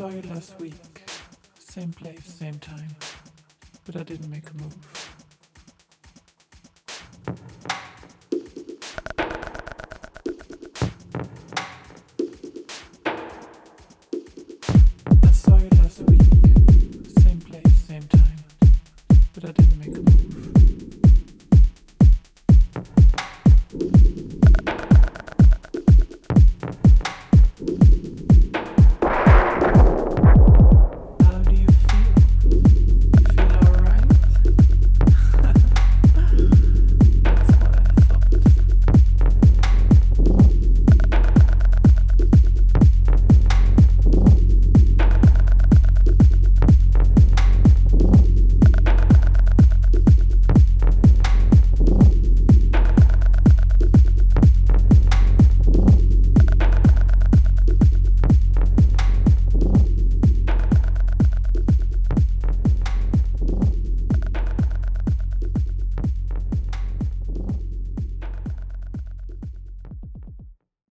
saw you last week. Same place, same time. But I didn't make a move. I saw you last week. Same place, same time. But I didn't make a move.